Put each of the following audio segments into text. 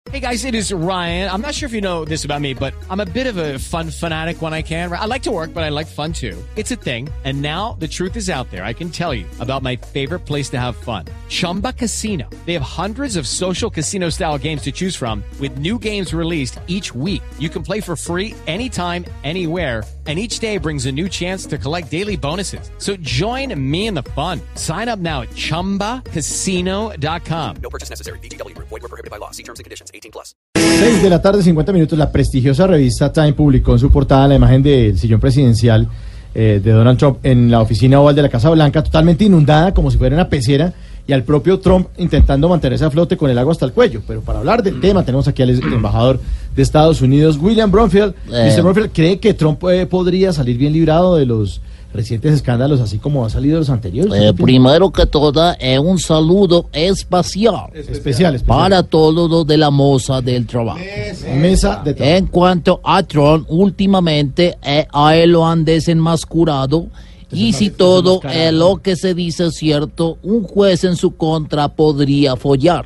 Hey guys, it is Ryan. I'm not sure if you know this about me, but I'm a bit of a fun fanatic when I can. I like to work, but I like fun too. It's a thing. And now the truth is out there. I can tell you about my favorite place to have fun. Chumba Casino. They have hundreds of social casino style games to choose from with new games released each week. You can play for free anytime, anywhere. And each day brings a new chance to collect daily bonuses. So join me in the fun. Sign up now at ChumbaCasino.com. No purchase necessary. VGW. Void where prohibited by law. See terms and conditions. 18+. 6 de la tarde, 50 minutos. La prestigiosa revista Time publicó en su portada la imagen del sillón presidencial de Donald Trump en la oficina oval de la Casa Blanca, totalmente inundada como si fuera una pecera, y al propio Trump intentando mantenerse a flote con el agua hasta el cuello. Pero para hablar del tema tenemos aquí al embajador de Estados Unidos, William Bromfield. Mr. Bromfield, ¿cree que Trump podría salir bien librado de los recientes escándalos, así como ha salido de los anteriores? Primero que todo, un saludo especial para todos los de la mesa del trabajo. Mesa de trabajo. En cuanto a Trump, últimamente a él lo han desenmascarado. Y si todo lo que se dice es cierto, un juez en su contra podría fallar.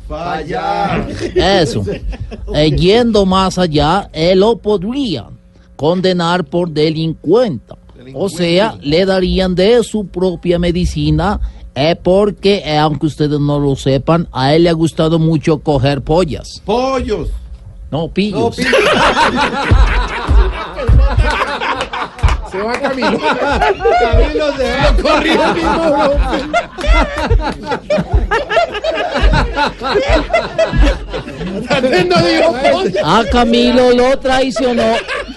Eso. Yendo más allá, él lo podría condenar por delincuente. O sea, le darían de su propia medicina, porque, aunque ustedes no lo sepan, a él le ha gustado mucho coger pollas. ¡Pollos! No, pillos. Se va Camilo. Camilo se va corriendo mismo. A Camilo lo traicionó.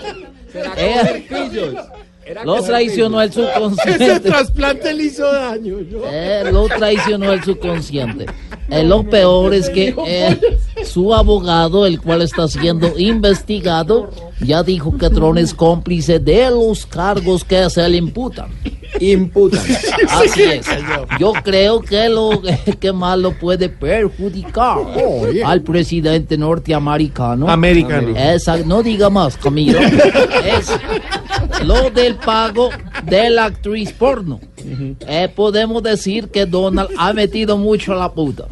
Lo traicionó el subconsciente. Ese trasplante le hizo daño. Lo traicionó el subconsciente. Lo peor es que su abogado, el cual está siendo investigado, ya dijo que Trump es cómplice de los cargos que se le imputan. Así es. Yo creo que lo que más lo puede perjudicar al presidente norteamericano. No diga más, Camilo. Es lo del pago de la actriz porno. Podemos decir que Donald ha metido mucho la puta.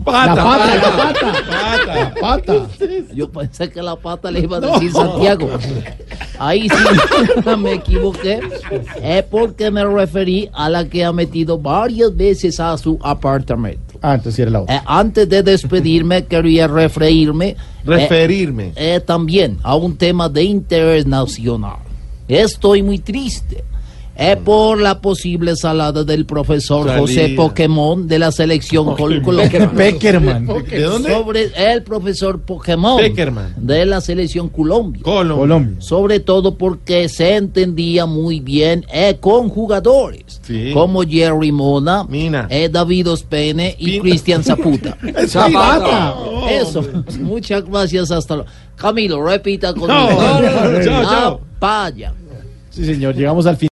La pata. Yo pensé que la pata le iba a decir Santiago. Ahí sí me equivoqué. Porque me referí a la que ha metido varias veces a su apartamento. Entonces era la otra. Antes de despedirme, quería referirme también a un tema de interés nacional. Estoy muy triste por la posible salada del profesor José Pokémon de la selección Colombia. Peckerman. ¿De dónde? Sobre el profesor Pokémon de la selección Colombia. Sobre todo porque se entendía muy bien con jugadores como Jerry Mona, David Ospene y Cristian Zaputa. Zapata. Eso. Muchas gracias. Hasta luego. Camilo, repita conmigo. Chao. Vaya. Sí, señor, llegamos al fin.